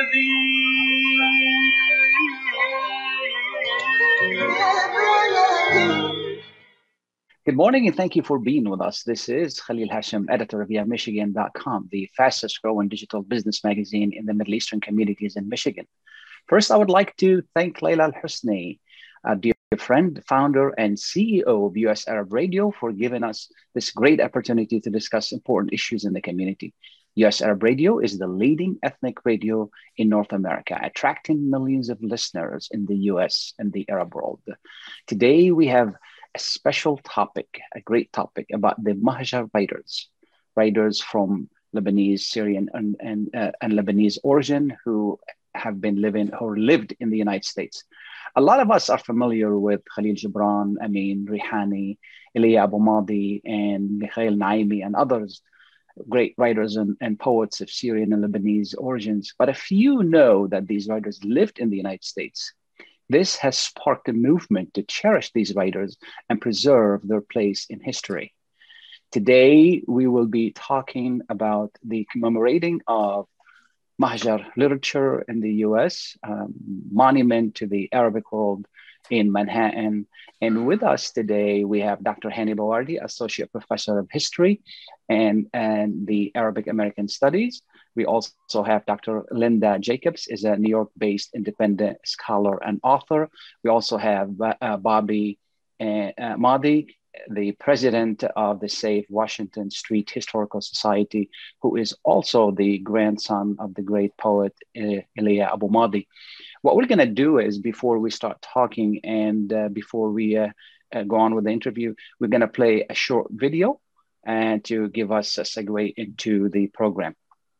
Good morning and thank you for being with us. This is Khalil Hashim, editor of YaMichigan.com, the fastest growing digital business magazine in the Middle Eastern communities in Michigan. First, I would like to thank Layla Al-Husni, a dear friend, founder, and CEO of US Arab Radio, for giving us this great opportunity to discuss important issues in the community. US Arab Radio is the leading ethnic radio in North America, attracting millions of listeners in the US and the Arab world. Today, we have a special topic, a great topic about the Mahjar writers from Lebanese, Syrian, and Lebanese origin who have been lived in the United States. A lot of us are familiar with Khalil Gibran, Amin Rihani, Elia Abu Madi, and Mikhail Naimi, and others, great writers and poets of Syrian and Lebanese origins. But if you know that these writers lived in the United States, this has sparked a movement to cherish these writers and preserve their place in history. Today, we will be talking about the commemorating of Mahjar literature in the US, monument to the Arabic world in Manhattan. And with us today, we have Dr. Hani Bawardi, Associate Professor of History and the Arabic American Studies. We also have Dr. Linda Jacobs, is a New York-based independent scholar and author. We also have Bobby Madi, the president of the Save Washington Street Historical Society, who is also the grandson of the great poet Elia Abu Madi. What we're going to do is, before we start talking and before we go on with the interview, we're going to play a short video and to give us a segue into the program.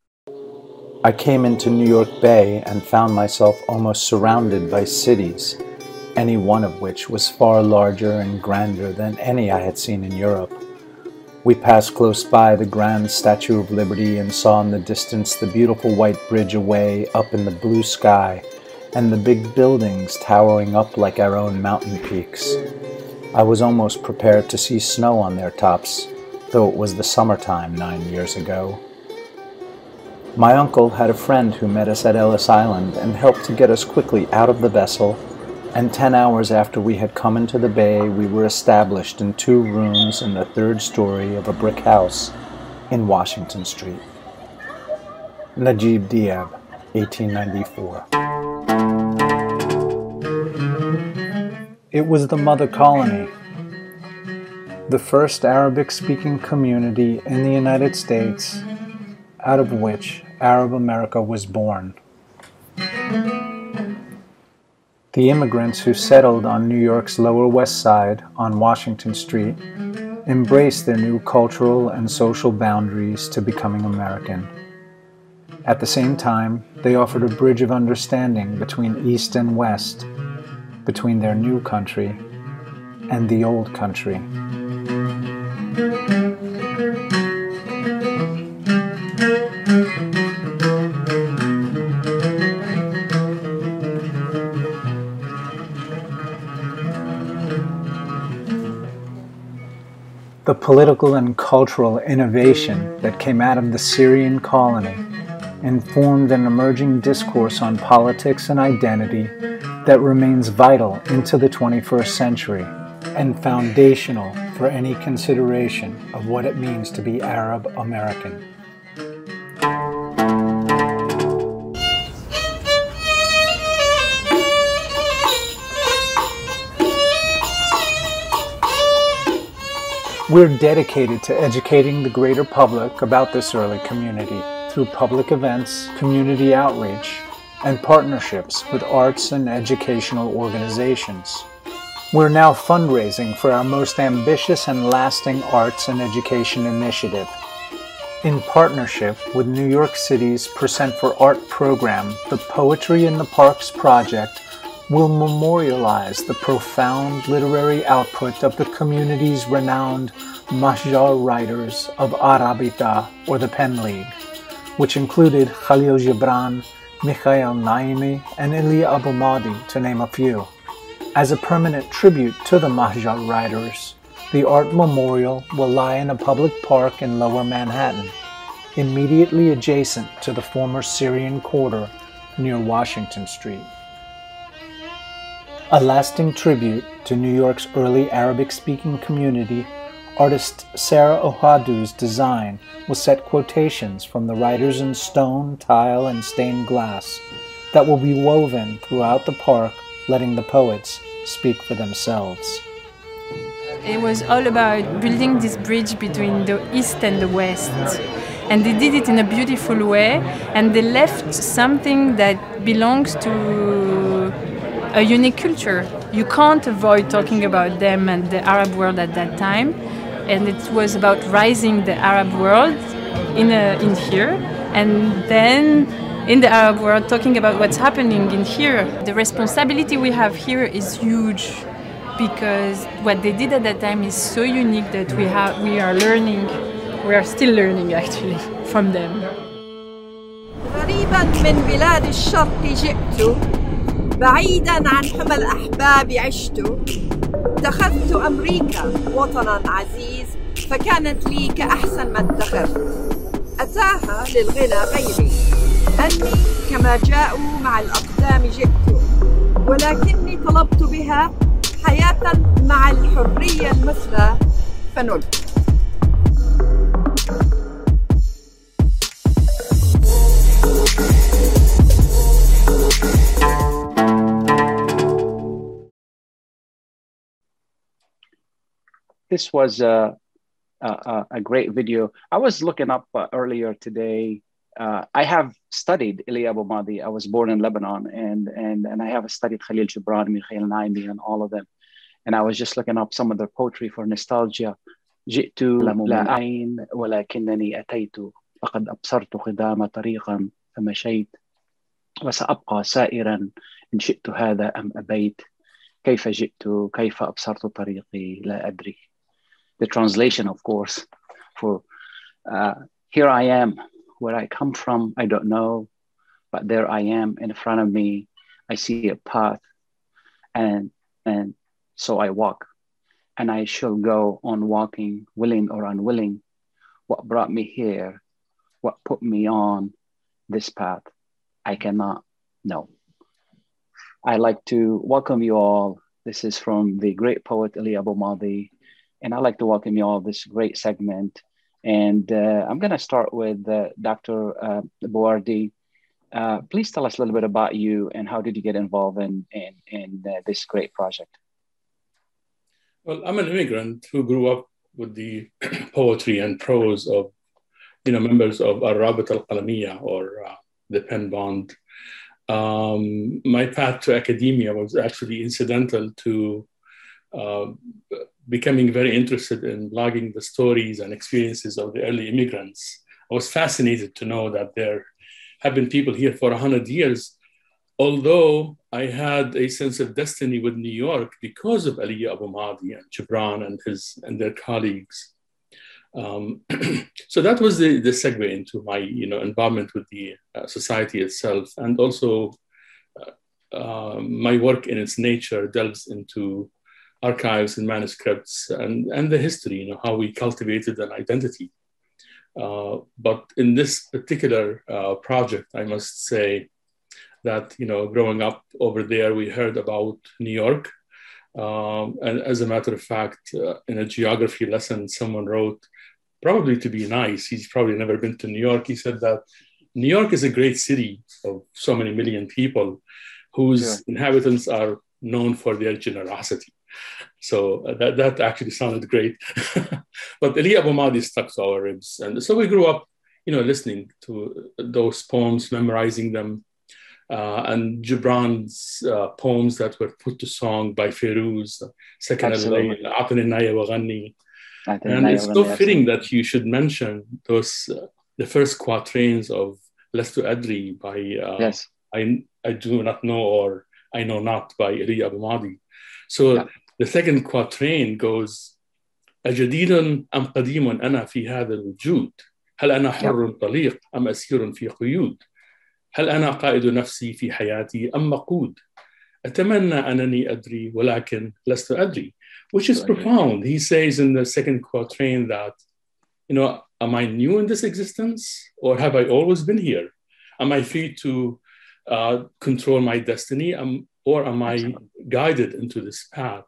I came into New York Bay and found myself almost surrounded by cities, any one of which was far larger and grander than any I had seen in Europe. We passed close by the grand Statue of Liberty and saw in the distance the beautiful white bridge away up in the blue sky and the big buildings towering up like our own mountain peaks. I was almost prepared to see snow on their tops, though it was the summertime 9 years ago. My uncle had a friend who met us at Ellis Island and helped to get us quickly out of the vessel, and 10 hours after we had come into the bay, we were established in 2 rooms in the 3rd story of a brick house in Washington Street. Najib Diab, 1894. It was the mother colony, the first Arabic-speaking community in the United States, out of which Arab America was born. The immigrants who settled on New York's Lower West Side on Washington Street embraced their new cultural and social boundaries to becoming American. At the same time, they offered a bridge of understanding between East and West, between their new country and the old country. The political and cultural innovation that came out of the Syrian colony informed an emerging discourse on politics and identity that remains vital into the 21st century and foundational for any consideration of what it means to be Arab American. We're dedicated to educating the greater public about this early community through public events, community outreach, and partnerships with arts and educational organizations. We're now fundraising for our most ambitious and lasting arts and education initiative. In partnership with New York City's Percent for Art program, the Poetry in the Parks project will memorialize the profound literary output of the community's renowned Mahjar writers of Arabita, or the Pen League, which included Khalil Gibran, Mikhail Naimi, and Elia Abu Madi, to name a few. As a permanent tribute to the Mahjar writers, the art memorial will lie in a public park in Lower Manhattan, immediately adjacent to the former Syrian quarter near Washington Street. A lasting tribute to New York's early Arabic-speaking community, artist Sarah Ohadu's design will set quotations from the writers in stone, tile, and stained glass that will be woven throughout the park, letting the poets speak for themselves. It was all about building this bridge between the East and the West. And they did it in a beautiful way, and they left something that belongs to a unique culture. You can't avoid talking about them and the Arab world at that time. And it was about rising the Arab world in here, and then in the Arab world talking about what's happening in here. The responsibility we have here is huge, because what they did at that time is so unique that we are still learning actually from them. غريبا من بلاد الشرق جئت، بعيدا عن حمى الأحباب عشت، اتخذت أمريكا وطنا عزيز، فكانت لي كأحسن ما اتخذت. أتاها للغنى غيري، أني كما جاءوا مع الأقدام جئت، ولكني طلبت بها حياة مع الحرية المثلى فنلت. This was a great video. I was looking up earlier today. I have studied Elia Abu Madi. I was born in Lebanon, and I have studied Khalil Gibran, Mikhail Naimi, and all of them. And I was just looking up some of their poetry for nostalgia. جئت لا عين ولكنني أتيت فقد أبصرت قدام طريقا فمشيت وسأبقى سائرا إن شئت هذا أم أبيت كيف جئت كيف أبصرت طريقي لا أدري. The translation, of course, for here I am, where I come from, I don't know, but there I am in front of me. I see a path, and so I walk, and I shall go on walking, willing or unwilling. What brought me here? What put me on this path? I cannot know. I'd like to welcome you all. This is from the great poet Elia Abu Madi. And I'd like to welcome you all to this great segment. And I'm going to start with Dr. Bouardi. Please tell us a little bit about you and how did you get involved in this great project? Well, I'm an immigrant who grew up with the poetry and prose of, members of Al-Rabit Al-Qalamiyya, or the Pen Bond. My path to academia was actually incidental to becoming very interested in blogging the stories and experiences of the early immigrants. I was fascinated to know that there have been people here for 100 years, although I had a sense of destiny with New York because of Elia Abu Madi and Gibran and their colleagues. So that was the segue into my involvement with the society itself, and also my work in its nature delves into archives and manuscripts and the history, how we cultivated an identity. But in this particular project, I must say that, growing up over there, we heard about New York. And as a matter of fact, in a geography lesson, someone wrote, probably to be nice, he's probably never been to New York. He said that New York is a great city of so many million people whose inhabitants are known for their generosity. So that actually sounded great. But Elia Abu Madi stuck to our ribs. And so we grew up, listening to those poems, memorizing them. And Gibran's poems that were put to song by Ferouz, Sakan al-Layl, A'tani an-Naya wa Ghanni. And it's so fitting that you should mention those, the first quatrains of Lastu Adri by I do not know, or I know not, by Elia Abu Madi. So the second quatrain goes, أجديد أم قديم أنا في هذا الوجود هل أنا حر طليق أم أسير في قيود هل أنا قائد نفسي في حياتي أم مقود أتمنى أنني أدري ولكن لست أدري, which is profound. He says in the second quatrain that, am I new in this existence, or have I always been here? Am I free to control my destiny, or am I guided into this path?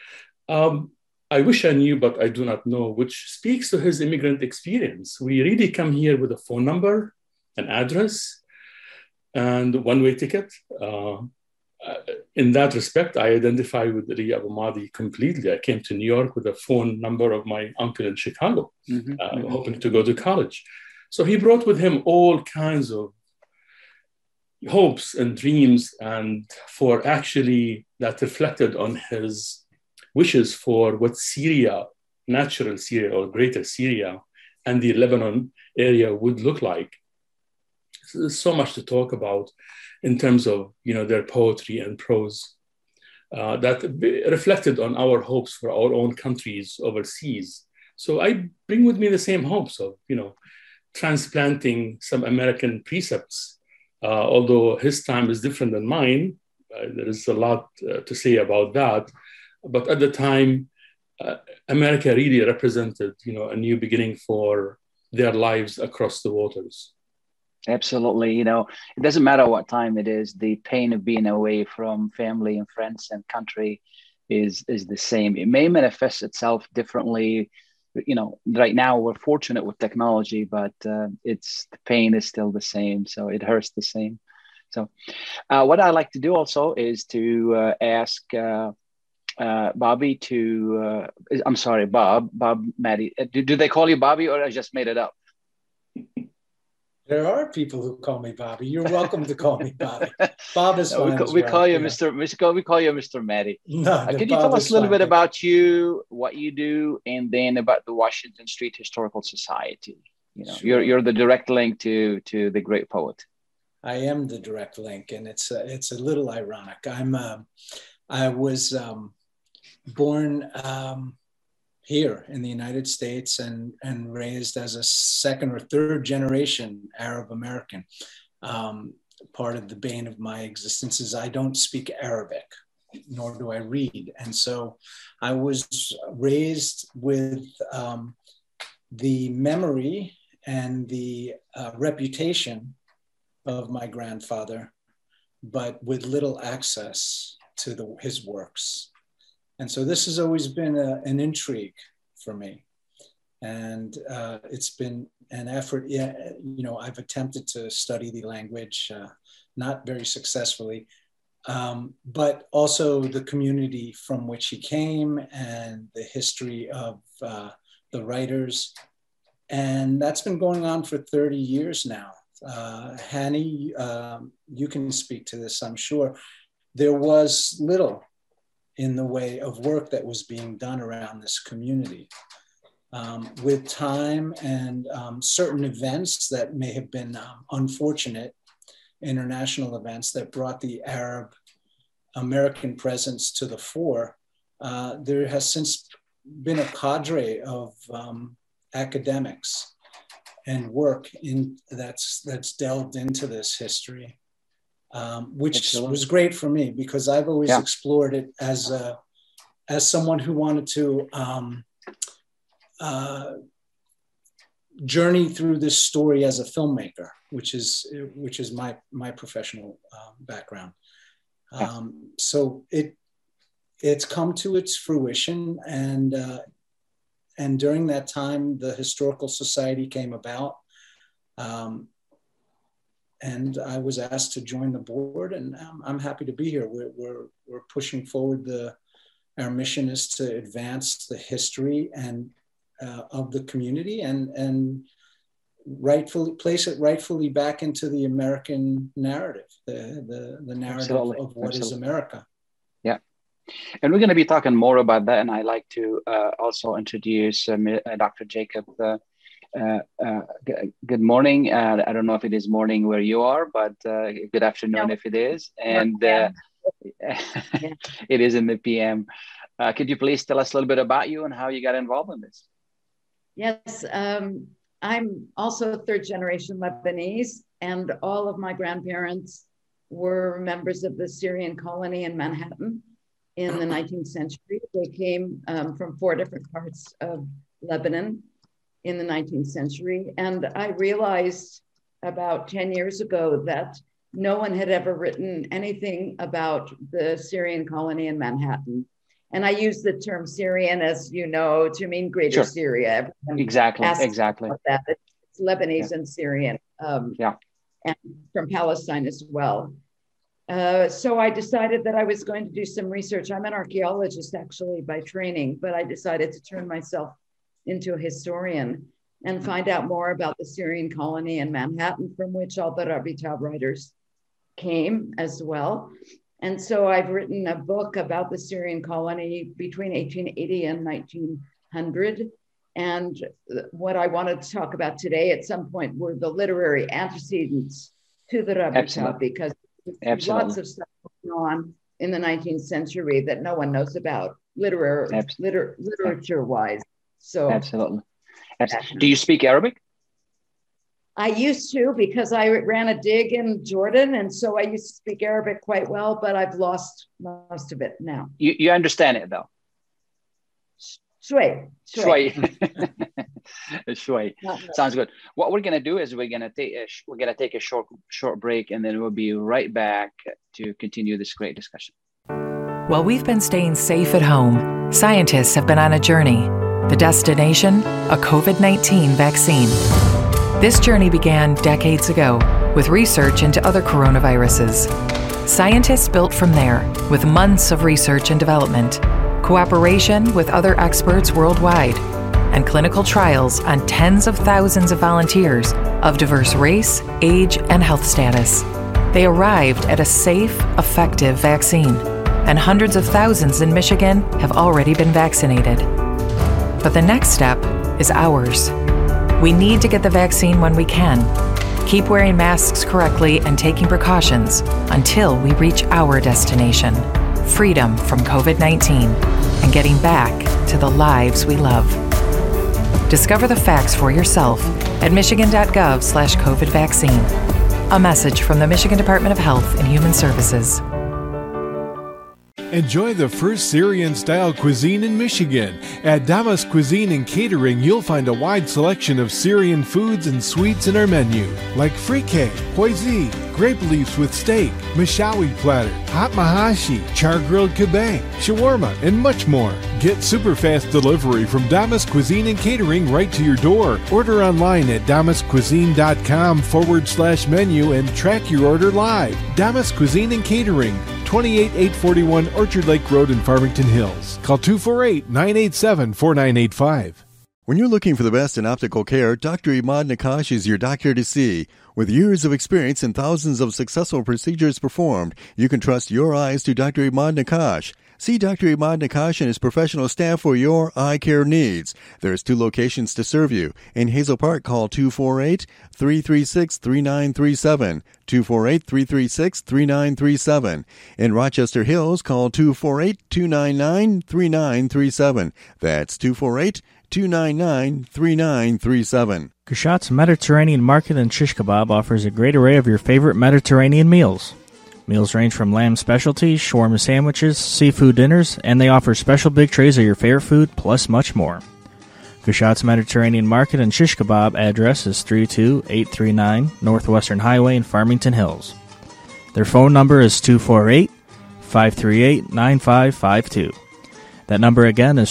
I wish I knew, but I do not know, which speaks to his immigrant experience. We really come here with a phone number, an address, and a one-way ticket. In that respect, I identify with Ali Abu Madi completely. I came to New York with a phone number of my uncle in Chicago, hoping to go to college. So he brought with him all kinds of hopes and dreams, and for actually that reflected on his wishes for what Syria, natural Syria or greater Syria, and the Lebanon area would look like. So there's so much to talk about in terms of their poetry and prose that reflected on our hopes for our own countries overseas. So I bring with me the same hopes of transplanting some American precepts, although his time is different than mine. There is a lot to say about that. But at the time, America really represented, a new beginning for their lives across the waters. Absolutely. It doesn't matter what time it is. The pain of being away from family and friends and country is the same. It may manifest itself differently. Right now we're fortunate with technology, but the pain is still the same. So it hurts the same. So what I like to do also is to ask Bobby Bob Madi. Do they call you Bobby, or I just made it up? There are people who call me Bobby. You're welcome to call me Bobby. Bob is fine. We call you Mr. We call you Mr. Madi. No, can you tell us a little bit about you, what you do, and then about the Washington Street Historical Society? Sure. You're the direct link to the great poet. I am the direct link, and it's a little ironic. I was born here in the United States and raised as a second or third generation Arab American. Part of the bane of my existence is I don't speak Arabic, nor do I read. And so I was raised with the memory and the reputation of my grandfather, but with little access to his works. And so this has always been an intrigue for me. And it's been an effort. I've attempted to study the language, not very successfully, but also the community from which he came and the history of the writers. And that's been going on for 30 years now. Hani, you can speak to this, I'm sure. There was little in the way of work that was being done around this community. With time and certain events that may have been unfortunate, international events that brought the Arab American presence to the fore, there has since been a cadre of academics and work that's delved into this history. Which was great for me because I've always explored it as someone who wanted to journey through this story as a filmmaker, which is my professional background. So it's come to its fruition, and during that time, the Historical Society came about. And I was asked to join the board, and I'm happy to be here. We're pushing forward. Our mission is to advance the history and of the community and place it rightfully back into the American narrative, the narrative of what is America. Yeah, and we're going to be talking more about that. And I'd like to also introduce Dr. Jacob. Good morning. I don't know if it is morning where you are, but good afternoon if it is. And it is in the PM. Could you please tell us a little bit about you and how you got involved in this? Yes, I'm also third generation Lebanese, and all of my grandparents were members of the Syrian colony in Manhattan in the 19th century. They came from 4 different parts of Lebanon in the 19th century. And I realized about 10 years ago that no one had ever written anything about the Syrian colony in Manhattan. And I use the term Syrian, as you know, to mean Greater Syria. Everyone Exactly. about that. It's Lebanese and Syrian, and from Palestine as well. So I decided that I was going to do some research. I'm an archaeologist actually by training, but I decided to turn myself into a historian and find out more about the Syrian colony in Manhattan, from which all the Rabitab writers came as well. And so I've written a book about the Syrian colony between 1880 and 1900. And what I wanted to talk about today at some point were the literary antecedents to the Rabitab, because there's lots of stuff going on in the 19th century that no one knows about, literature-wise. So Absolutely. Do you speak Arabic? I used to, because I ran a dig in Jordan, and so I used to speak Arabic quite well, but I've lost most of it now. You understand it though? Shway. Shway. Sounds good. What we're gonna do is we're gonna take a short break, and then we'll be right back to continue this great discussion. While we've been staying safe at home, scientists have been on a journey. The destination, a COVID-19 vaccine. This journey began decades ago with research into other coronaviruses. Scientists built from there with months of research and development, cooperation with other experts worldwide, and clinical trials on tens of thousands of volunteers of diverse race, age, and health status. They arrived at a safe, effective vaccine, and hundreds of thousands in Michigan have already been vaccinated. But the next step is ours. We need to get the vaccine when we can. Keep wearing masks correctly and taking precautions until we reach our destination, freedom from COVID-19 and getting back to the lives we love. Discover the facts for yourself at michigan.gov/COVID vaccine. A message from the Michigan Department of Health and Human Services. Enjoy the first Syrian-style cuisine in Michigan. At Damas Cuisine and Catering, you'll find a wide selection of Syrian foods and sweets in our menu, like frikeh, poisi, grape leaves with steak, mashawi platter, hot mahashi, char-grilled kebab, shawarma, and much more. Get super fast delivery from Damas Cuisine and Catering right to your door. Order online at damascuisine.com/menu and track your order live. Damas Cuisine and Catering, 28841 Orchard Lake Road in Farmington Hills. Call 248-987-4985. When you're looking for the best in optical care, Dr. Imad Nakash is your doctor to see. With years of experience and thousands of successful procedures performed, you can trust your eyes to Dr. Imad Nakash. See Dr. Imad Nakash and his professional staff for your eye care needs. There's 2 locations to serve you. In Hazel Park, call 248-336-3937. 248-336-3937. In Rochester Hills, call 248-299-3937. That's 248-299-3937. Kushat's Mediterranean Market and Shish Kebab offers a great array of your favorite Mediterranean meals. Meals range from lamb specialties, shawarma sandwiches, seafood dinners, and they offer special big trays of your favorite food, plus much more. Kushat's Mediterranean Market and Shish Kebab address is 32839 Northwestern Highway in Farmington Hills. Their phone number is 248-538-9552. That number again is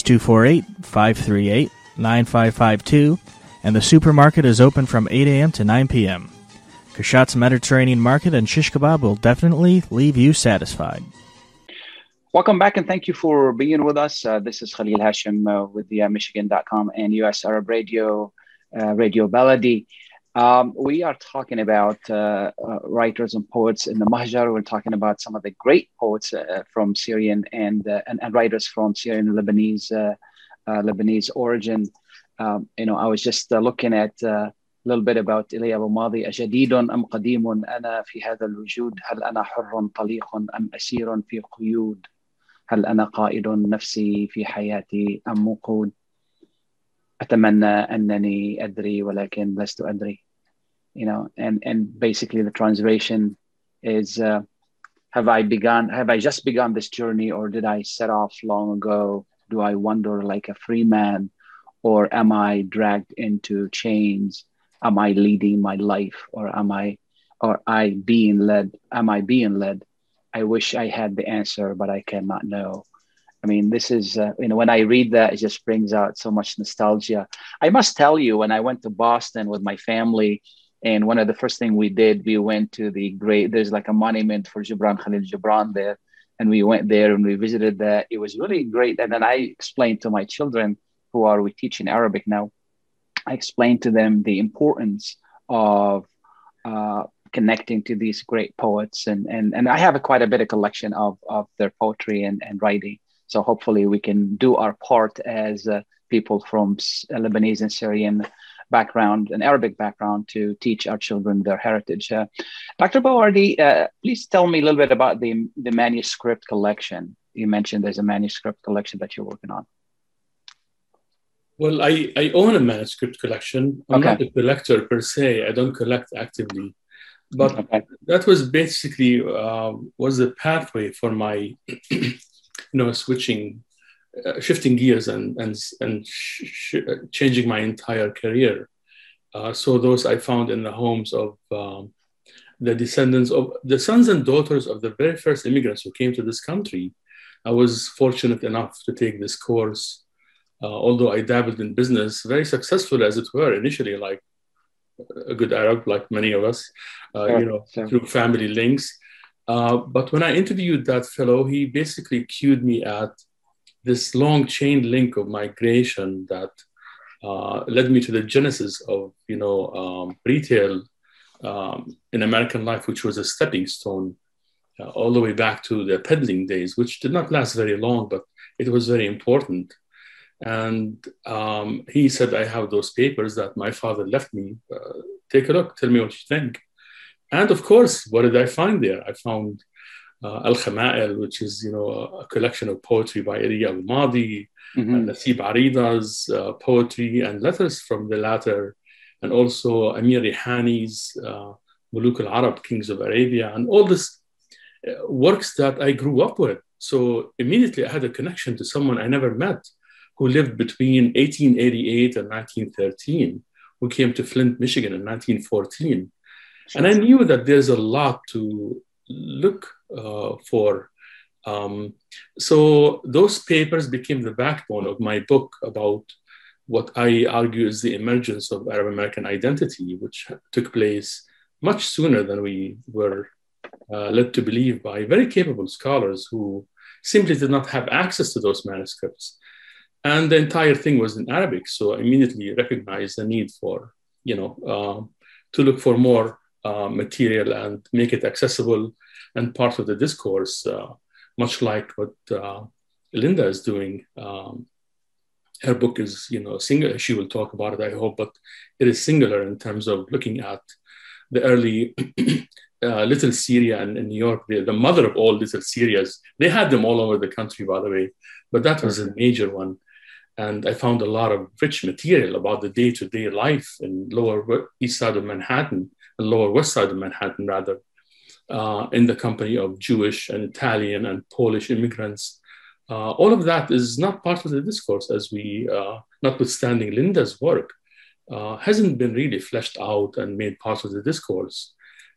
248-538-9552, and the supermarket is open from 8 a.m. to 9 p.m. Kushat's Mediterranean Market and Shish Kebab will definitely leave you satisfied. Welcome back, and thank you for being with us. This is Khalil Hashim with the Michigan.com and US Arab Radio, Radio Baladi. We are talking about writers and poets in the Mahjar. We're talking about some of the great poets from Syrian and writers from Syrian and Lebanese origin. I was just looking at little bit about إلي أبو ماضي أجديد أم قديم أنا في هذا الوجود هل أنا حر طليق أم أسير في قيود هل أنا قائد نفسي في حياتي أم موقود أتمنى أنني أدري ولكن لست أدري. And basically the translation is have I just begun this journey, or did I set off long ago? Do I wander like a free man, or am I dragged into chains? Am I leading my life, or am I or I being led? Am I being led? I wish I had the answer, but I cannot know. I mean, this is, when I read that, it just brings out so much nostalgia. I must tell you, when I went to Boston with my family, and one of the first things we did, we went to there's like a monument for Gibran Khalil Gibran there. And we went there and we visited that. It was really great. And then I explained to my children we teaching Arabic now, I explained to them the importance of connecting to these great poets. And I have quite a bit of collection of their poetry and writing. So hopefully we can do our part as people from Lebanese and Syrian background and Arabic background to teach our children their heritage. Dr. Bawardi, please tell me a little bit about the manuscript collection. You mentioned there's a manuscript collection that you're working on. Well, I own a manuscript collection. I'm not a collector per se. I don't collect actively. But that was basically was the pathway for my, shifting gears and changing my entire career. So those I found in the homes of the descendants of the sons and daughters of the very first immigrants who came to this country. I was fortunate enough to take this course, although I dabbled in business, very successful as it were initially, like a good Arab, like many of us, through family links. But when I interviewed that fellow, he basically cued me at this long chain link of migration that led me to the genesis of, retail in American life, which was a stepping stone all the way back to the peddling days, which did not last very long, but it was very important. And he said, I have those papers that my father left me. Take a look, tell me what you think. And of course, what did I find there? I found Al-Khama'il, which is, a collection of poetry by Iliya al-Madi, Nasib Arida's poetry and letters from the latter, and also Amir Rihani's Muluk al-Arab, Kings of Arabia, and all this works that I grew up with. So immediately I had a connection to someone I never met who lived between 1888 and 1913, who came to Flint, Michigan in 1914. And I knew that there's a lot to look for. So those papers became the backbone of my book about what I argue is the emergence of Arab American identity, which took place much sooner than we were led to believe by very capable scholars who simply did not have access to those manuscripts. And the entire thing was in Arabic. So I immediately recognized the need for, to look for more material and make it accessible and part of the discourse, much like what Linda is doing. Her book is, singular. She will talk about it, I hope, but it is singular in terms of looking at the early Little Syria in New York, the mother of all Little Syrias. They had them all over the country, by the way, but that was a major one. And I found a lot of rich material about the day-to-day life in Lower East Side of Manhattan, and Lower West Side of Manhattan, rather, in the company of Jewish and Italian and Polish immigrants. All of that is not part of the discourse, as we, notwithstanding Linda's work, hasn't been really fleshed out and made part of the discourse.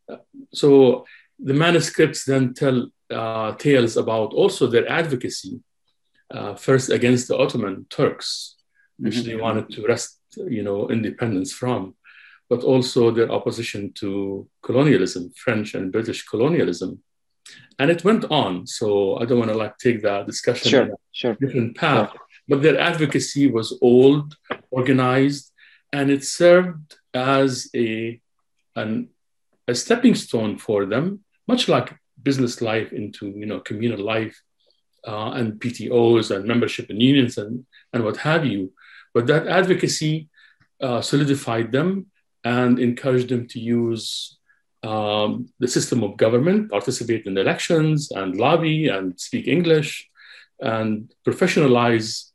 So the manuscripts then tell tales about also their advocacy, first against the Ottoman Turks, which they wanted to wrest, independence from, but also their opposition to colonialism, French and British colonialism. And it went on. So I don't want to take that discussion on a different path, but their advocacy was old, organized, and it served as a stepping stone for them, much like business life into, communal life and PTOs and membership in unions and what have you. But that advocacy solidified them and encouraged them to use the system of government, participate in elections and lobby and speak English and professionalize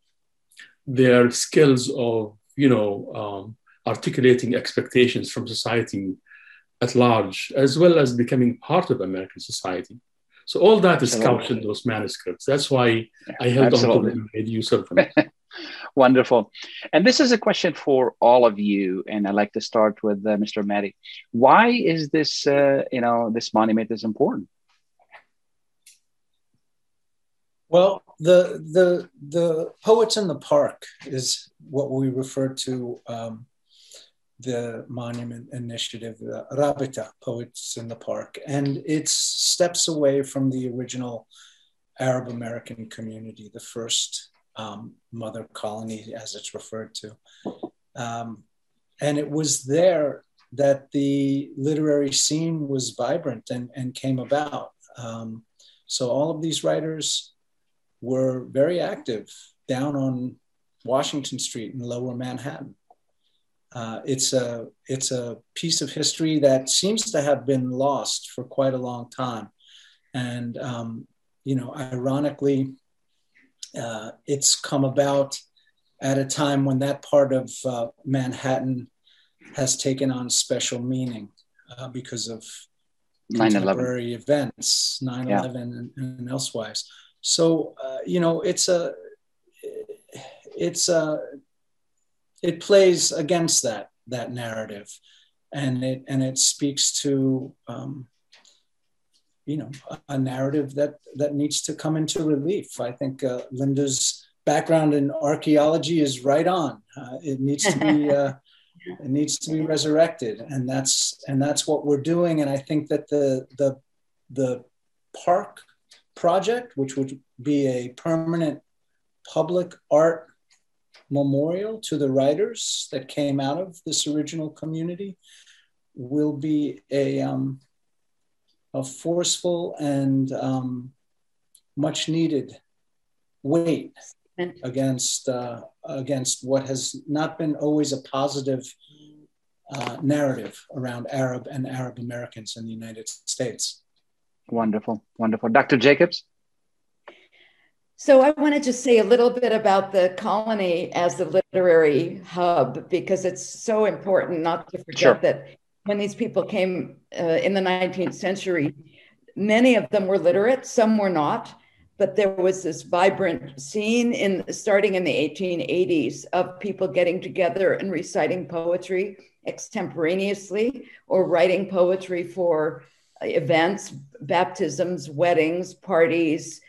their skills of, articulating expectations from society at large, as well as becoming part of American society. So all that is couched in those manuscripts. That's why I held on to them and made use of them. Wonderful. And this is a question for all of you. And I'd like to start with Mr. Mahdi. Why is this, this monument is important? Well, the Poets in the Park is what we refer to the monument initiative, the Rabita, Poets in the Park. And it's steps away from the original Arab American community, the first mother colony, as it's referred to. And it was there that the literary scene was vibrant and came about. So all of these writers were very active down on Washington Street in Lower Manhattan. It's a piece of history that seems to have been lost for quite a long time. And, ironically, it's come about at a time when that part of Manhattan has taken on special meaning because of contemporary events, 9/11 and elsewise. So, it plays against that narrative, and it speaks to a narrative that needs to come into relief. I think Linda's background in archaeology is right on. It needs to be it needs to be resurrected, and that's what we're doing. And I think that the park project, which would be a permanent public art memorial to the writers that came out of this original community, will be a forceful and much needed weight against what has not been always a positive narrative around Arab and Arab Americans in the United States. Wonderful, wonderful. Dr. Jacobs? So I want to just say a little bit about the colony as the literary hub, because it's so important not to forget that when these people came in the 19th century, many of them were literate, some were not, but there was this vibrant scene starting in the 1880s of people getting together and reciting poetry extemporaneously or writing poetry for events, baptisms, weddings, parties,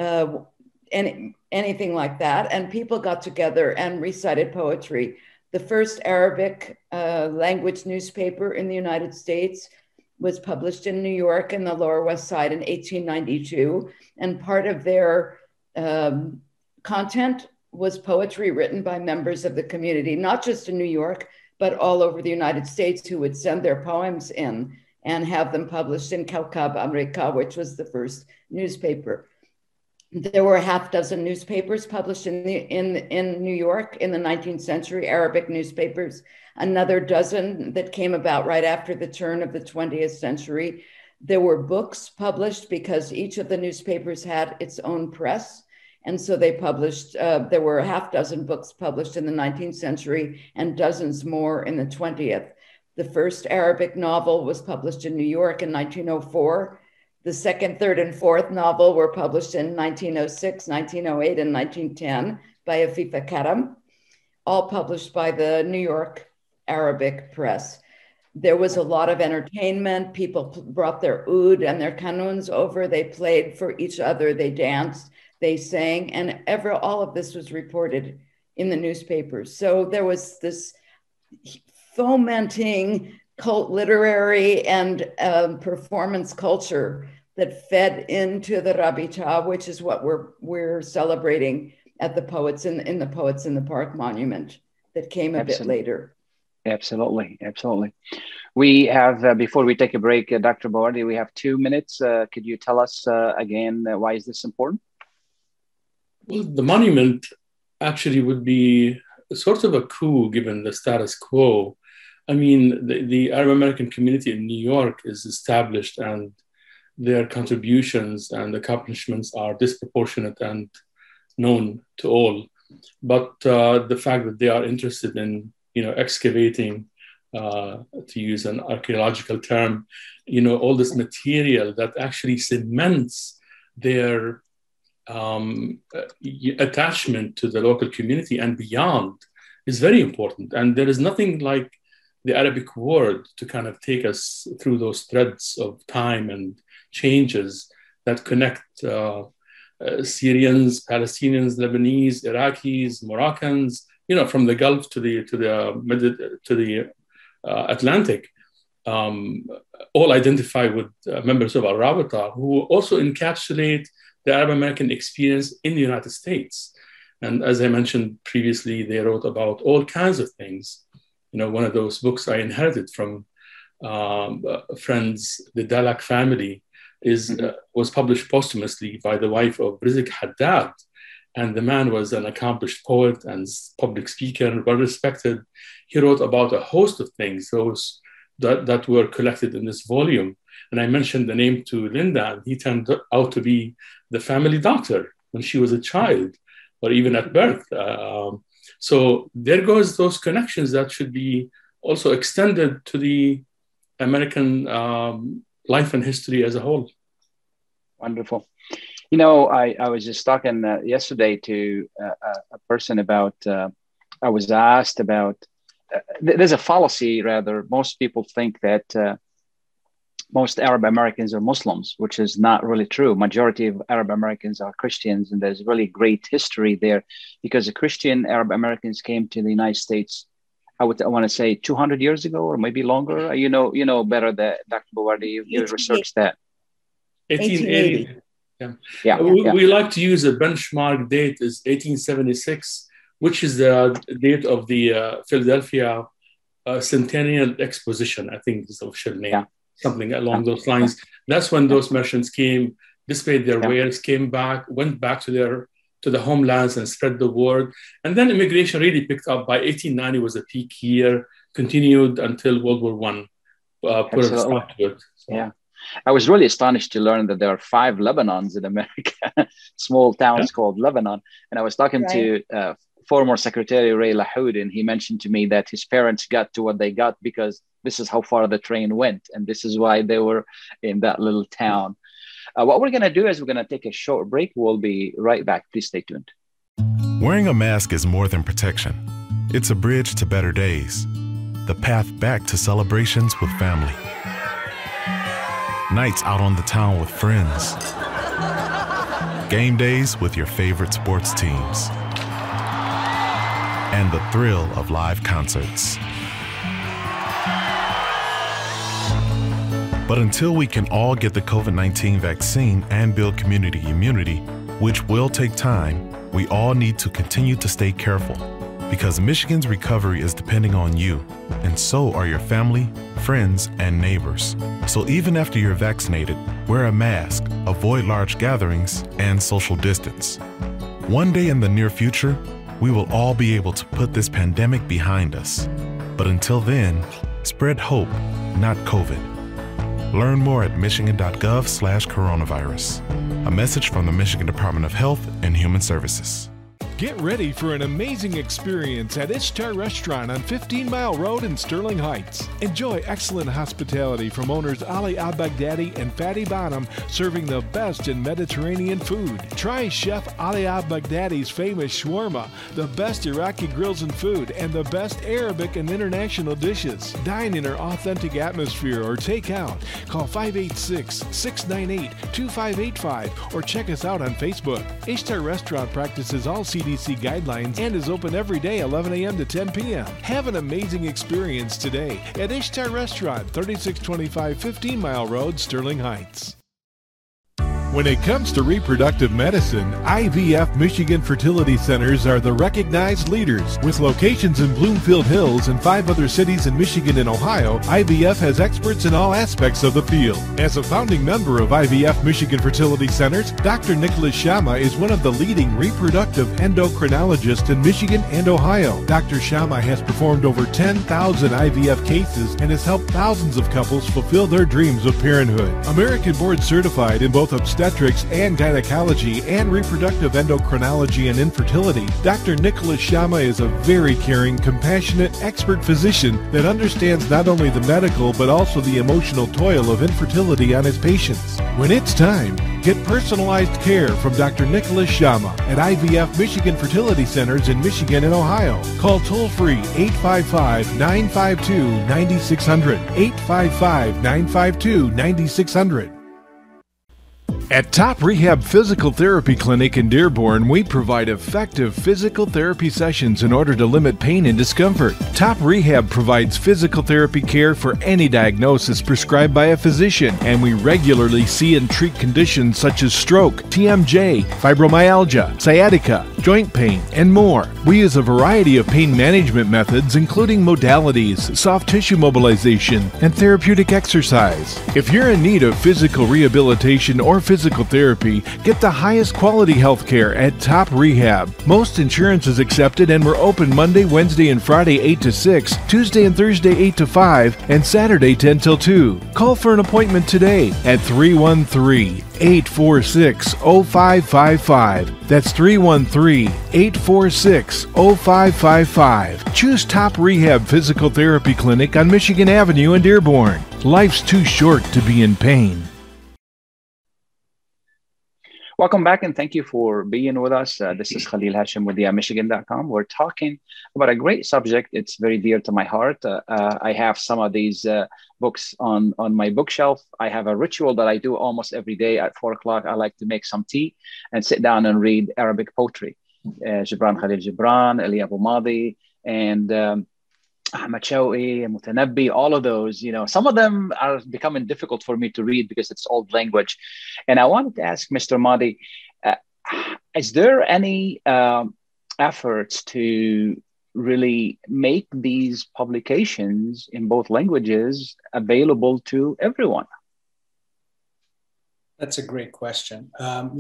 anything like that. And people got together and recited poetry. The first Arabic language newspaper in the United States was published in New York in the Lower West Side in 1892. And part of their content was poetry written by members of the community, not just in New York, but all over the United States, who would send their poems in and have them published in Kawkab Amerika, which was the first newspaper. There were a half dozen newspapers published in New York in the 19th century, Arabic newspapers, another dozen that came about right after the turn of the 20th century. There were books published because each of the newspapers had its own press. And so they published, there were a half dozen books published in the 19th century and dozens more in the 20th. The first Arabic novel was published in New York in 1904. The second, third, and fourth novel were published in 1906, 1908, and 1910 by Afifa Karam, all published by the New York Arabic press. There was a lot of entertainment. People brought their oud and their kanuns over. They played for each other. They danced, they sang, and all of this was reported in the newspapers. So there was this fomenting cult literary and performance culture that fed into the Rabita, which is what we're celebrating at the Poets in the Poets in the Park monument that came a bit later. Absolutely, absolutely. We have, before we take a break, Dr. Bawardi, we have 2 minutes. Could you tell us again, why is this important? Well, the monument actually would be sort of a coup given the status quo. I mean, the Arab American community in New York is established, and their contributions and accomplishments are disproportionate and known to all. But the fact that they are interested in, excavating to use an archaeological term, all this material that actually cements their attachment to the local community and beyond is very important. And there is nothing like the Arabic word to kind of take us through those threads of time and changes that connect Syrians, Palestinians, Lebanese, Iraqis, Moroccans, from the Gulf to the Atlantic, all identify with members of Al-Rabita, who also encapsulate the Arab American experience in the United States. And as I mentioned previously, they wrote about all kinds of things. One of those books I inherited from friends, the Dalak family, was published posthumously by the wife of Rizik Haddad. And the man was an accomplished poet and public speaker and well respected. He wrote about a host of things, those that were collected in this volume. And I mentioned the name to Linda, and he turned out to be the family doctor when she was a child, or even at birth. So there goes those connections that should be also extended to the American life and history as a whole. Wonderful. I was just talking yesterday to a person about, I was asked about, there's a fallacy rather. Most people think that most Arab Americans are Muslims, which is not really true. Majority of Arab Americans are Christians, and there's really great history there because the Christian Arab Americans came to the United States, I want to say 200 years ago or maybe longer. You know better that Dr. Bouardi, you researched that. 1880. We like to use a benchmark date is 1876, which is the date of the Philadelphia Centennial Exposition, I think is the official name, something along those lines. That's when those merchants came, displayed their wares, came back, went back to the homelands and spread the word. And then immigration really picked up. By 1890 was a peak year, continued until World War I put a stop to it. So. Yeah. I was really astonished to learn that there are 5 Lebanons in America, small towns called Lebanon. And I was talking to former Secretary Ray LaHood, and he mentioned to me that his parents got to what they got because this is how far the train went. And this is why they were in that little town. What we're going to do is we're going to take a short break. We'll be right back. Please stay tuned. Wearing a mask is more than protection. It's a bridge to better days, the path back to celebrations with family. Nights out on the town with friends. Game days with your favorite sports teams. And the thrill of live concerts. But until we can all get the COVID-19 vaccine and build community immunity, which will take time, we all need to continue to stay careful. Because Michigan's recovery is depending on you, and so are your family, friends, and neighbors. So even after you're vaccinated, wear a mask, avoid large gatherings, and social distance. One day in the near future, we will all be able to put this pandemic behind us. But until then, spread hope, not COVID. Learn more at michigan.gov/coronavirus. A message from the Michigan Department of Health and Human Services. Get ready for an amazing experience at Ishtar Restaurant on 15 Mile Road in Sterling Heights. Enjoy excellent hospitality from owners Ali Al-Baghdadi and Fatty Bonham, serving the best in Mediterranean food. Try Chef Ali Al-Baghdadi's famous shawarma, the best Iraqi grills and food, and the best Arabic and international dishes. Dine in our authentic atmosphere or take out. Call 586-698-2585 or check us out on Facebook. Ishtar Restaurant practices all CDC guidelines and is open every day 11 a.m. to 10 p.m. Have an amazing experience today at Ishtar Restaurant, 3625 15 Mile Road, Sterling Heights. When it comes to reproductive medicine, IVF Michigan Fertility Centers are the recognized leaders. With locations in Bloomfield Hills and 5 other cities in Michigan and Ohio, IVF has experts in all aspects of the field. As a founding member of IVF Michigan Fertility Centers, Dr. Nicholas Shama is one of the leading reproductive endocrinologists in Michigan and Ohio. Dr. Shama has performed over 10,000 IVF cases and has helped thousands of couples fulfill their dreams of parenthood. American board certified in both obstetrics obstetrics and gynecology and reproductive endocrinology and infertility, Dr. Nicholas Sharma is a very caring, compassionate, expert physician that understands not only the medical but also the emotional toil of infertility on his patients. When it's time, get personalized care from Dr. Nicholas Sharma at IVF Michigan Fertility Centers in Michigan and Ohio. Call toll-free 855-952-9600, 855-952-9600. At Top Rehab Physical Therapy Clinic in Dearborn, we provide effective physical therapy sessions in order to limit pain and discomfort. Top Rehab provides physical therapy care for any diagnosis prescribed by a physician, and we regularly see and treat conditions such as stroke, TMJ, fibromyalgia, sciatica, joint pain, and more. We use a variety of pain management methods, including modalities, soft tissue mobilization, and therapeutic exercise. If you're in need of physical rehabilitation or physical therapy, get the highest quality health care at Top Rehab. Most insurance is accepted, and we're open Monday, Wednesday, and Friday 8 to 6, Tuesday and Thursday 8 to 5, and Saturday 10 till 2. Call for an appointment today at 313-846-0555. That's 313-846-0555. Choose Top Rehab Physical Therapy Clinic on Michigan Avenue in Dearborn. Life's too short to be in pain. Welcome back, and thank you for being with us. This is Khalil Hashim with Michigan.com. We're talking about a great subject. It's very dear to my heart. I have some of these books on my bookshelf. I have a ritual that I do almost every day at 4 o'clock. I like to make some tea and sit down and read Arabic poetry. Gibran Khalil Gibran, Ali Abu Madi, and Ahmad Shawqi, Mutanabbi, all of those, some of them are becoming difficult for me to read because it's old language. And I wanted to ask Mr. Madi, is there any efforts to really make these publications in both languages available to everyone? That's a great question. I'm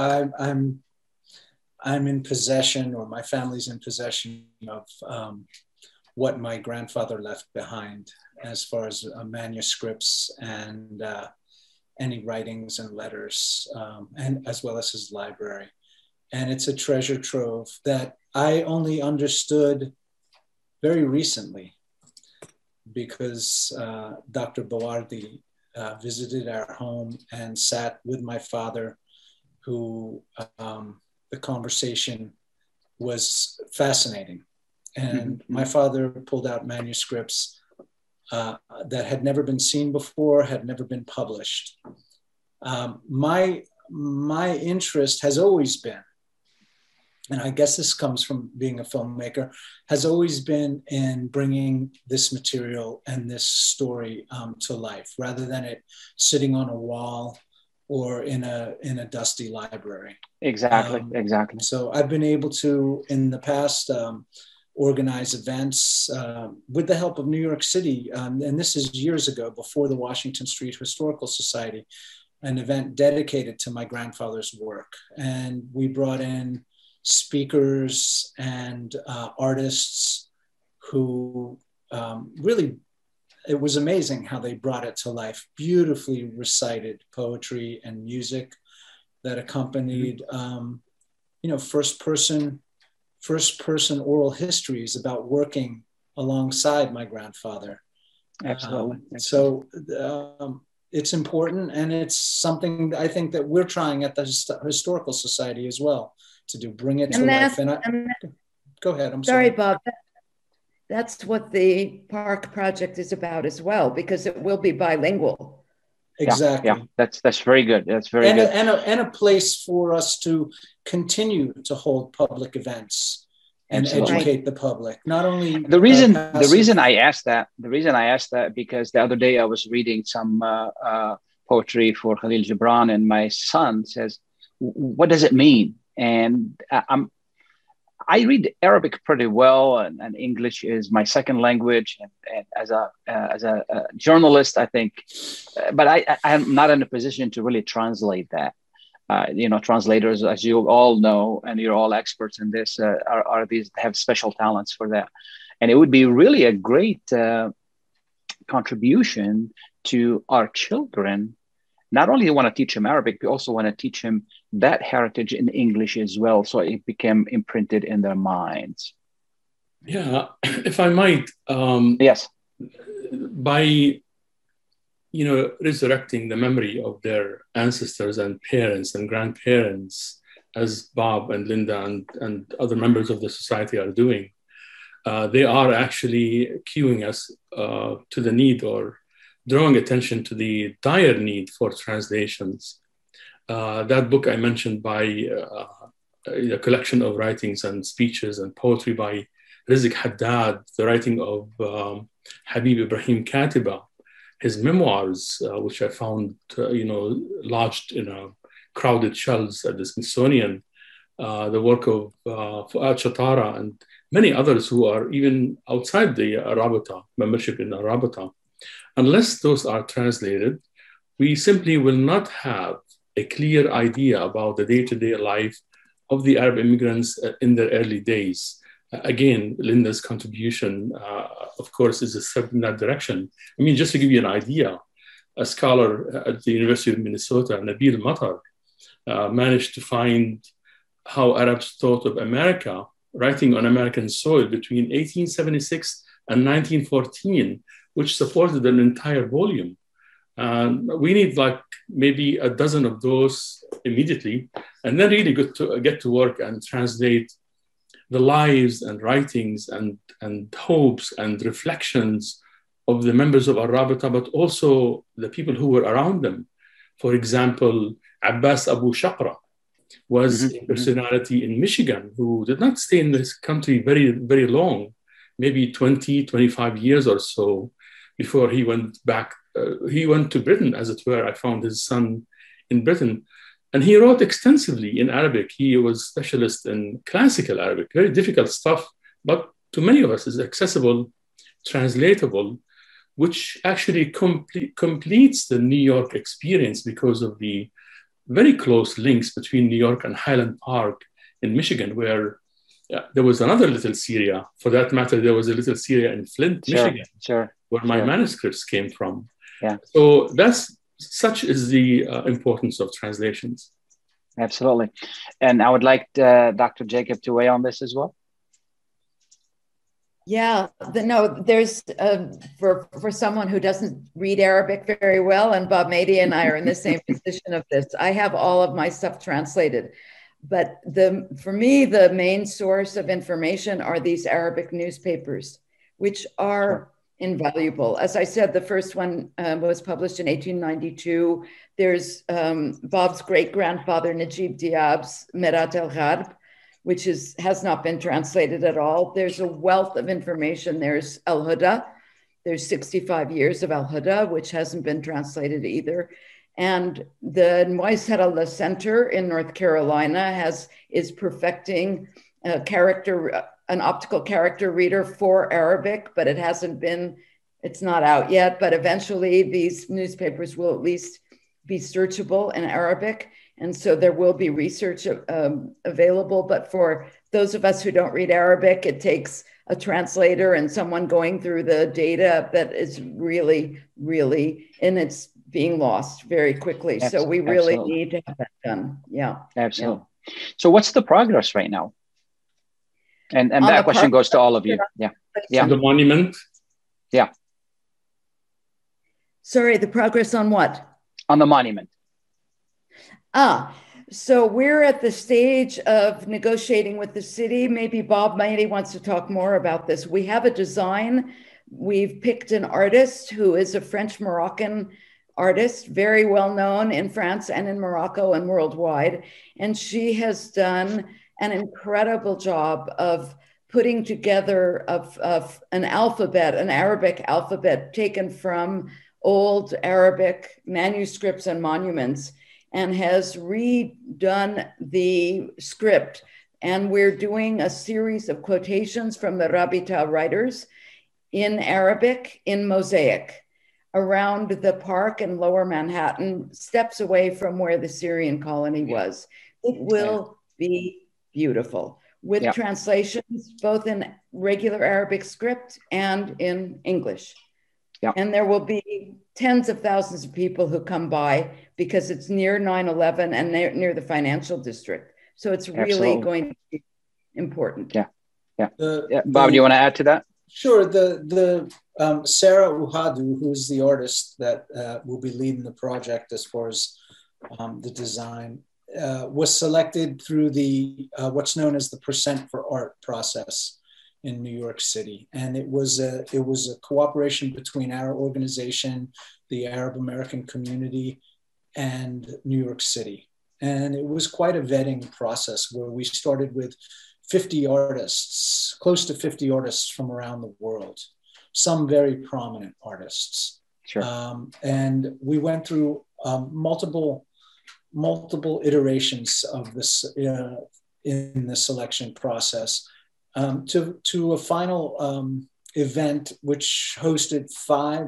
in possession, or my family's in possession of what my grandfather left behind as far as manuscripts and any writings and letters, and as well as his library. And it's a treasure trove that I only understood very recently because Dr. Bawardi visited our home and sat with my father, who the conversation was fascinating. And my father pulled out manuscripts that had never been seen before, had never been published. My interest has always been, and I guess this comes from being a filmmaker, has always been in bringing this material and this story to life, rather than it sitting on a wall or in a dusty library. Exactly. So I've been able to, in the past, organize events with the help of New York City. And this is years ago, before the Washington Street Historical Society, an event dedicated to my grandfather's work. And we brought in speakers and artists who really, it was amazing how they brought it to life. Beautifully recited poetry and music that accompanied, first person oral histories about working alongside my grandfather. Absolutely. So it's important, and it's something I think that we're trying at the Historical Society as well to do, bring it to life. Go ahead, I'm sorry. Bob. That's what the Park Project is about as well, because it will be bilingual. Exactly. Yeah, that's very good. That's very good. And a place for us to continue to hold public events and educate the public. Not only the reason I asked that because the other day I was reading some poetry for Khalil Gibran, and my son says, "What does it mean?" And I read Arabic pretty well, and English is my second language. And as a journalist, I think, but I am not in a position to really translate that. Translators, as you all know, and you're all experts in this, are these have special talents for that. And it would be really a great contribution to our children not only want to teach him Arabic, we also want to teach him that heritage in English as well, so it became imprinted in their minds. Yeah, if I might. Yes. By resurrecting the memory of their ancestors and parents and grandparents, as Bob and Linda and other members of the society are doing, they are actually cueing us to the need, or drawing attention to the dire need for translations. That book I mentioned by a collection of writings and speeches and poetry by Rizk Haddad, the writing of Habib Ibrahim Katiba, his memoirs, which I found, lodged in a crowded shelves at the Smithsonian, the work of Fuad Shatara and many others who are even outside the Rabita, membership in the Rabita. Unless those are translated, we simply will not have a clear idea about the day-to-day life of the Arab immigrants in their early days. Again, Linda's contribution, of course, is a step in that direction. I mean, just to give you an idea, a scholar at the University of Minnesota, Nabil Matar, managed to find how Arabs thought of America, writing on American soil between 1876 and 1914, which supported an entire volume. We need maybe a dozen of those immediately, and then really get to work and translate the lives and writings and hopes and reflections of the members of Al-Rabita, but also the people who were around them. For example, Abbas Abu Shaqra was a personality in Michigan who did not stay in this country very, very long, maybe 20, 25 years or so before he went back. He went to Britain, as it were. I found his son in Britain. And he wrote extensively in Arabic. He was specialist in classical Arabic, very difficult stuff, but to many of us is accessible, translatable, which actually completes the New York experience because of the very close links between New York and Highland Park in Michigan, where there was another little Syria. For that matter, there was a little Syria in Flint, Michigan, where my manuscripts came from. Yeah. So such is the importance of translations. Absolutely. And I would like Dr. Jacob to weigh on this as well. Yeah, there's for someone who doesn't read Arabic very well, and Bob Mady and I are in the same position of this. I have all of my stuff translated, but for me, the main source of information are these Arabic newspapers, which are invaluable. As I said, the first one was published in 1892. There's Bob's great-grandfather, Najib Diab's Merat el-Gharb, which has not been translated at all. There's a wealth of information. There's Al-Huda. There's 65 years of Al-Huda, which hasn't been translated either. And the Moisset Allah Center in North Carolina is perfecting an optical character reader for Arabic, but it's not out yet, but eventually these newspapers will at least be searchable in Arabic. And so there will be research available, but for those of us who don't read Arabic, it takes a translator and someone going through the data that is really, really, and it's being lost very quickly. So we really need to have that done. Yeah. Absolutely. Yeah. So what's the progress right now? And that question goes to all of you. Yeah. Yeah. The monument. Yeah. Sorry, the progress on what? On the monument. So we're at the stage of negotiating with the city. Maybe Bob Mady wants to talk more about this. We have a design. We've picked an artist who is a French-Moroccan artist, very well known in France and in Morocco and worldwide. And she has done an incredible job of putting together of an alphabet, an Arabic alphabet taken from old Arabic manuscripts and monuments, and has redone the script. And we're doing a series of quotations from the Rabita writers in Arabic in mosaic around the park in Lower Manhattan, steps away from where the Syrian colony was. It will be beautiful with translations, both in regular Arabic script and in English. And there will be tens of thousands of people who come by because it's near 9/11 and near the financial district. So it's really Absolutely. going to be important. Yeah. Bob, do you want to add to that? Sure. Sarah Uhadu, who's the artist that will be leading the project as far as the design, was selected through the what's known as the Percent for Art process in New York City, and it was a cooperation between our organization, the Arab American community, and New York City, and it was quite a vetting process where we started with 50 artists, close to 50 artists from around the world, some very prominent artists. Sure. And we went through multiple iterations of this in the selection process to a final event which hosted 4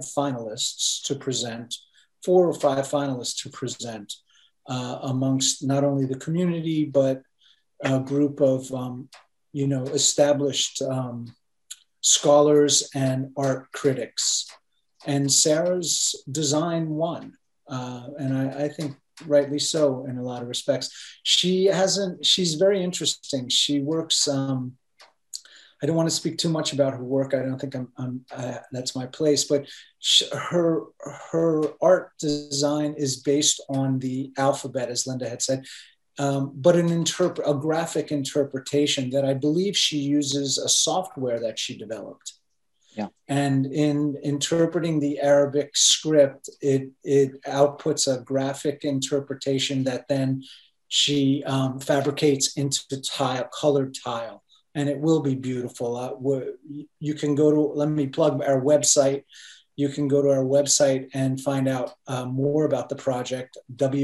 or 5 finalists to present amongst not only the community, but a group of, established scholars and art critics. And Sarah's design won. And I think rightly so in a lot of respects. She's very interesting. She works, I don't want to speak too much about her work. I don't think that's my place, but her art design is based on the alphabet, as Linda had said, but a graphic interpretation that I believe she uses a software that she developed. Yeah. And in interpreting the Arabic script, it outputs a graphic interpretation that then she fabricates into colored tile. And it will be beautiful. You can go to, let me plug our website. You can go to our website and find out more about the project,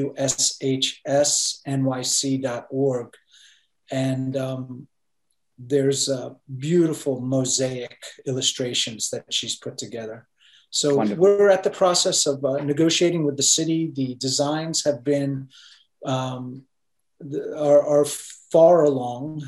wshsnyc.org. And there's beautiful mosaic illustrations that she's put together. So wonderful. We're at the process of negotiating with the city. The designs have been, are far along,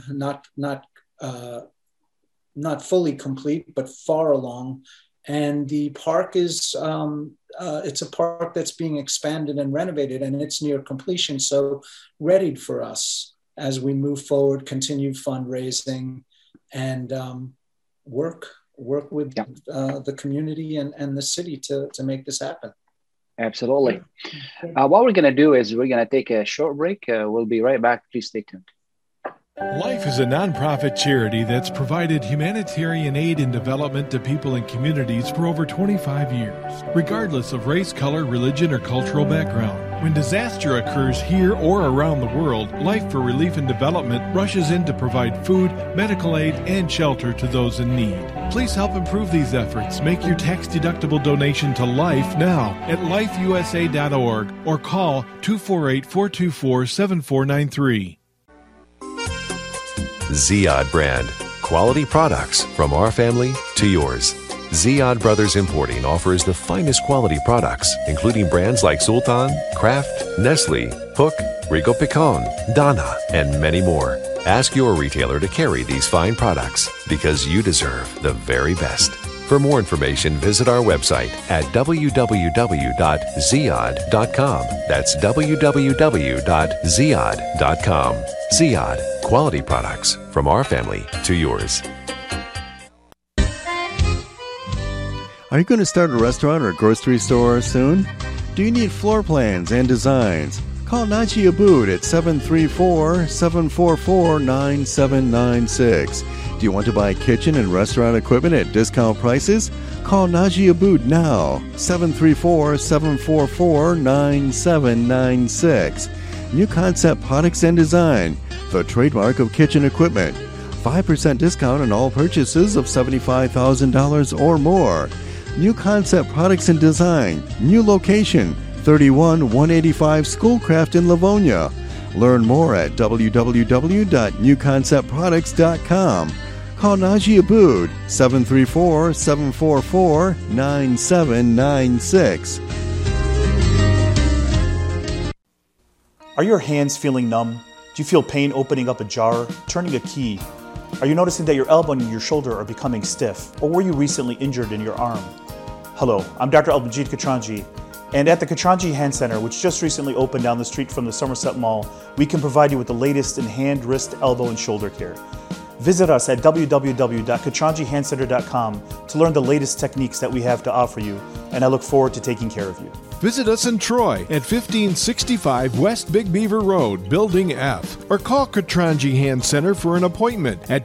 not fully complete, but far along. And the park is, it's a park that's being expanded and renovated, and it's near completion. So readied for us as we move forward, continue fundraising, and work with the community and the city to make this happen. Absolutely. What we're going to do is we're going to take a short break. We'll be right back. Please stay tuned. Life is a nonprofit charity that's provided humanitarian aid and development to people and communities for over 25 years, regardless of race, color, religion, or cultural background. When disaster occurs here or around the world, Life for Relief and Development rushes in to provide food, medical aid, and shelter to those in need. Please help improve these efforts. Make your tax-deductible donation to Life now at lifeusa.org or call 248-424-7493. Ziyad brand. Quality products from our family to yours. Ziyad Brothers Importing offers the finest quality products, including brands like Sultan, Kraft, Nestle, Hook, Rico Picon, Donna, and many more. Ask your retailer to carry these fine products because you deserve the very best. For more information, visit our website at www.ziyad.com. That's www.ziyad.com. Ziyad, quality products from our family to yours. Are you going to start a restaurant or grocery store soon? Do you need floor plans and designs? Call Naji Abood at 734-744-9796. Do you want to buy kitchen and restaurant equipment at discount prices? Call Naji Abood now, 734-744-9796. New Concept Products and Design, the trademark of kitchen equipment. 5% discount on all purchases of $75,000 or more. New Concept Products and Design, new location, 31185 Schoolcraft in Livonia. Learn more at www.newconceptproducts.com. Call Naji Abood, 734-744-9796. Are your hands feeling numb? Do you feel pain opening up a jar, turning a key? Are you noticing that your elbow and your shoulder are becoming stiff? Or were you recently injured in your arm? Hello, I'm Dr. Al-Majid Katranji, and at the Katranji Hand Center, which just recently opened down the street from the Somerset Mall, we can provide you with the latest in hand, wrist, elbow, and shoulder care. Visit us at www.katranjihandcenter.com to learn the latest techniques that we have to offer you, and I look forward to taking care of you. Visit us in Troy at 1565 West Big Beaver Road, Building F, or call Katranji Hand Center for an appointment at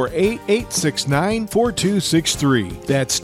248-869-4263. That's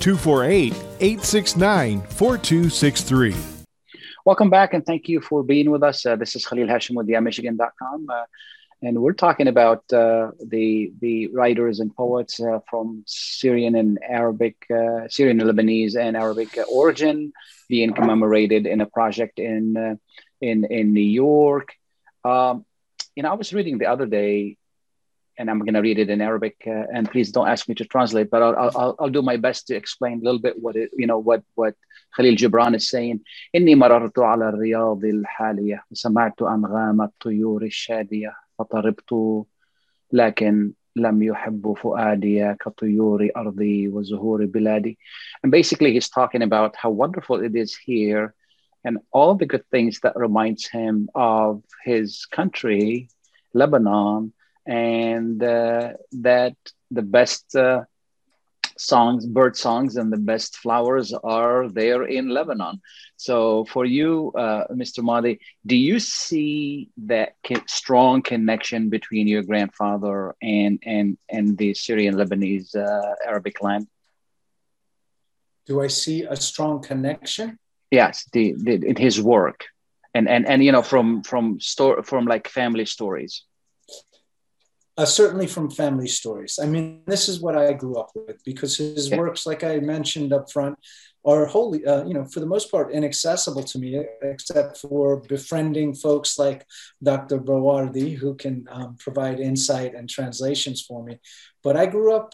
248-869-4263. Welcome back, and thank you for being with us. This is Khalil Hashim with YaMichigan.com. And we're talking about the writers and poets from Syrian and Arabic, Syrian and Lebanese and Arabic origin being commemorated in a project in New York. I was reading the other day, and I'm going to read it in Arabic. And please don't ask me to translate, but I'll do my best to explain a little bit what Khalil Gibran is saying. إني مررت على الرياض الحالية وسمعت أنغام الطيور الشادية فطربت لكن لم يحب فؤادي كطيور أرضي وزهور بلادي. And basically he's talking about how wonderful it is here and all the good things that reminds him of his country, Lebanon, and that the best bird songs and the best flowers are there in Lebanon. So for you, Mr. Mahdi, do you see that strong connection between your grandfather and the Syrian Lebanese Arabic land? Do I see a strong connection? Yes, in his work, and from like family stories. Certainly from family stories. I mean, this is what I grew up with, because his works, like I mentioned up front, are wholly, for the most part, inaccessible to me, except for befriending folks like Dr. Bawardi, who can provide insight and translations for me. But I grew up,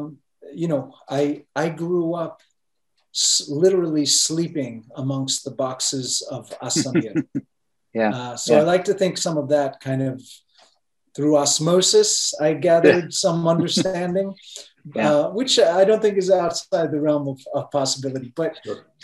I grew up literally sleeping amongst the boxes of As-Samir. I like to think some of that kind of through osmosis, I gathered some understanding, which I don't think is outside the realm of possibility. But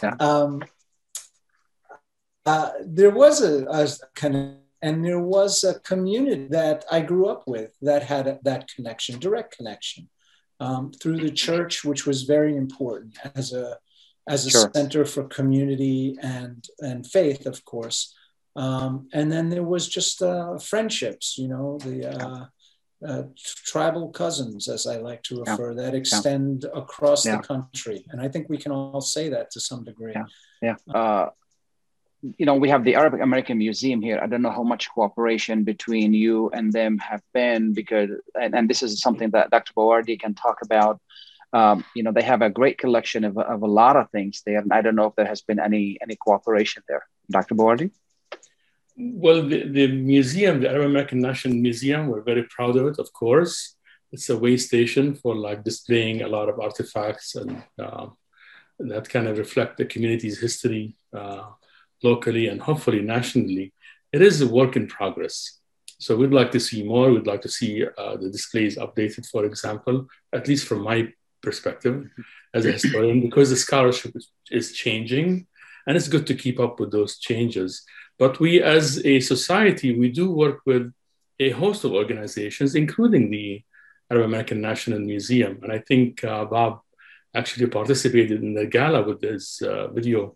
there was there was a community that I grew up with that had that connection, direct connection, through the church, which was very important as a center for community and faith, of course. And then there was just friendships, the tribal cousins, as I like to refer, that extend across the country. And I think we can all say that to some degree. We have the Arabic American Museum here. I don't know how much cooperation between you and them have been, because, and this is something that Dr. Bawardi can talk about. They have a great collection of a lot of things there. And I don't know if there has been any cooperation there. Dr. Bawardi? Well, the museum, the Arab American National Museum, we're very proud of it, of course. It's a way station for like displaying a lot of artifacts and that kind of reflect the community's history locally and hopefully nationally. It is a work in progress. So we'd like to see more. We'd like to see the displays updated, for example, at least from my perspective as a historian, because the scholarship is changing and it's good to keep up with those changes. But we, as a society, we do work with a host of organizations, including the Arab American National Museum. And I think Bob actually participated in the gala with this video.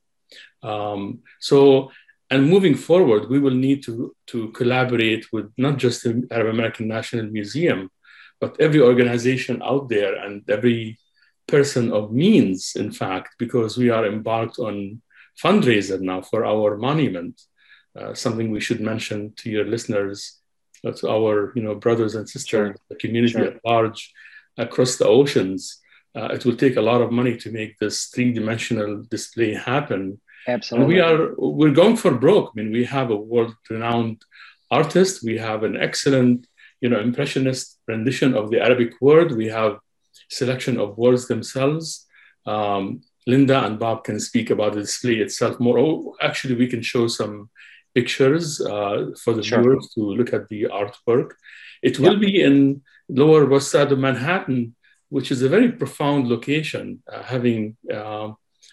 And moving forward, we will need to collaborate with not just the Arab American National Museum, but every organization out there and every person of means, in fact, because we are embarked on fundraiser now for our monument. Something we should mention to your listeners, to our brothers and sisters, the community at large across the oceans. It will take a lot of money to make this three-dimensional display happen. Absolutely. And we're going for broke. I mean, we have a world-renowned artist. We have an excellent, impressionist rendition of the Arabic word. We have selection of words themselves. Linda and Bob can speak about the display itself more. Actually, we can show some pictures for the viewers to look at the artwork. It will be in Lower West Side of Manhattan, which is a very profound location, having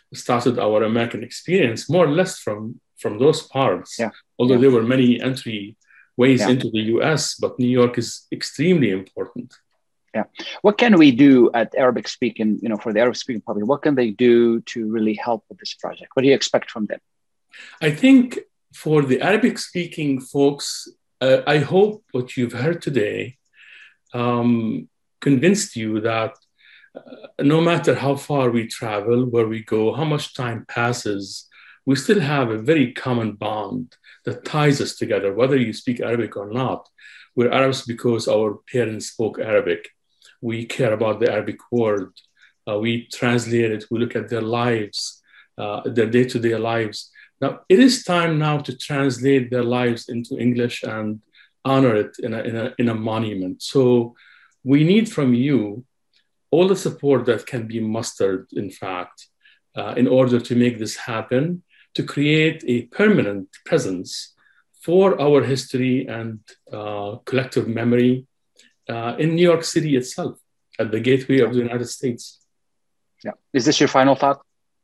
started our American experience more or less from those parts. Yeah. Although there were many entry ways Yeah. into the US, but New York is extremely important. Yeah. What can we do at Arabic speaking, for the Arabic speaking public? What can they do to really help with this project? What do you expect from them? I think for the Arabic speaking folks, I hope what you've heard today convinced you that no matter how far we travel, where we go, how much time passes, we still have a very common bond that ties us together, whether you speak Arabic or not. We're Arabs because our parents spoke Arabic. We care about the Arabic word. We translate it. We look at their lives, their day-to-day lives. Now, it is time now to translate their lives into English and honor it in a monument. So we need from you all the support that can be mustered, in fact, in order to make this happen, to create a permanent presence for our history and collective memory in New York City itself, at the gateway of the United States. Yeah. Is this your final thought?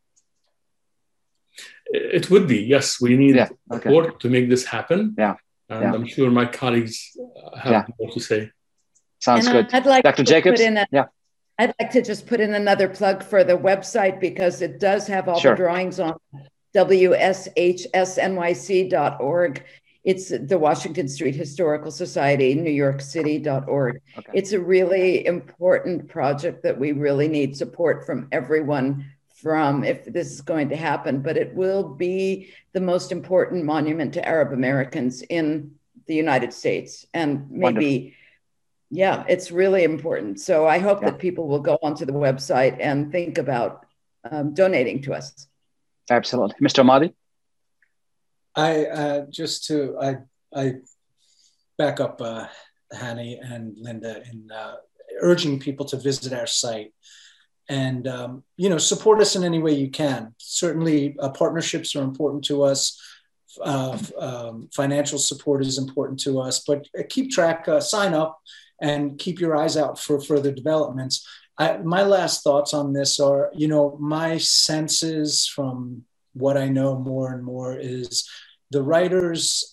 It would be, yes. We need support to make this happen. Yeah. And I'm sure my colleagues have more to say. Sounds good. I'd like Dr. to Jacobs? I'd like to just put in another plug for the website, because it does have all the drawings on wshsnyc.org. It's the Washington Street Historical Society, NewYorkCity.org. Okay. It's a really important project that we really need support from everyone if this is going to happen, but it will be the most important monument to Arab Americans in the United States. And maybe, it's really important. So I hope that people will go onto the website and think about donating to us. Absolutely. Mr. Ahmadi? I back up Hani and Linda in urging people to visit our site and support us in any way you can. Certainly partnerships are important to us. Financial support is important to us, but keep track, sign up, and keep your eyes out for further developments. My last thoughts on this are, my senses from what I know more and more is the writers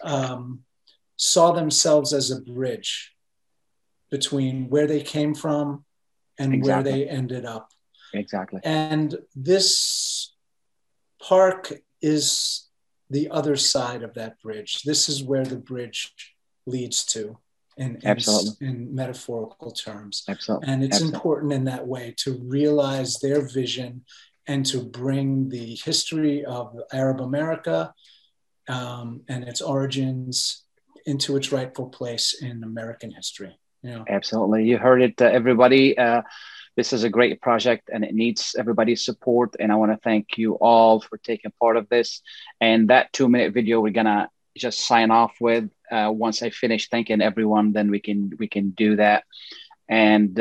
saw themselves as a bridge between where they came from and where they ended up. Exactly. And this park is the other side of that bridge. This is where the bridge leads to in metaphorical terms. Absolutely. And it's important in that way to realize their vision and to bring the history of Arab America and its origins into its rightful place in American history. Absolutely. You heard it, everybody. This is a great project and it needs everybody's support. And I want to thank you all for taking part of this. And that 2-minute video, we're going to just sign off with. Once I finish thanking everyone, then we can do that. And,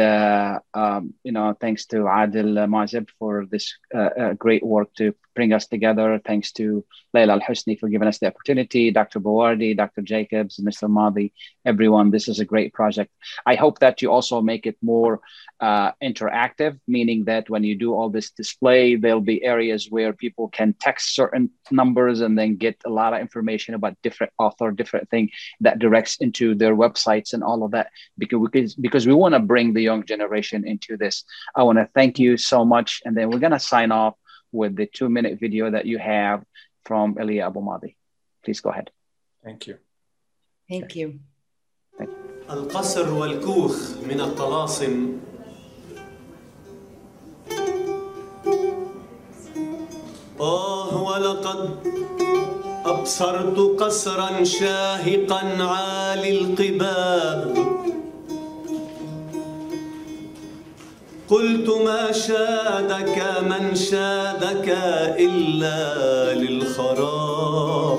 thanks to Adil Mazib for this great work to bring us together. Thanks to Layla Al-Husni for giving us the opportunity, Dr. Bawardi, Dr. Jacobs, Mr. Madi, everyone. This is a great project. I hope that you also make it more interactive, meaning that when you do all this display, there'll be areas where people can text certain numbers and then get a lot of information about different author, different thing that directs into their websites and all of that, because we want to bring the young generation into this. I want to thank you so much. And then we're going to sign off with the 2-minute video that you have from Elia Abu Madi. Please go ahead. Thank you. Thank you. القصر والكوخ من الطلاسم ولقد أبصرت قصرا شاهقا عالي القباب قلت ما شادك من شادك إلا للخراب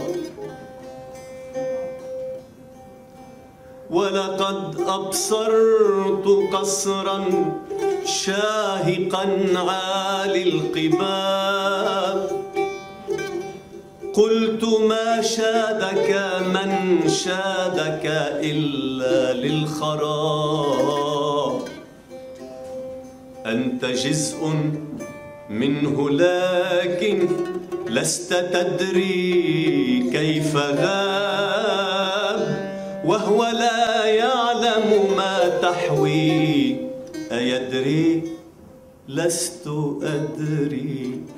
ولقد أبصرت قصرا شاهقا عالي القباب قلت ما شادك من شادك إلا للخراب أنت جزء منه لكن لست تدري كيف غاب وهو لا يعلم ما تحوي أيدري لست أدري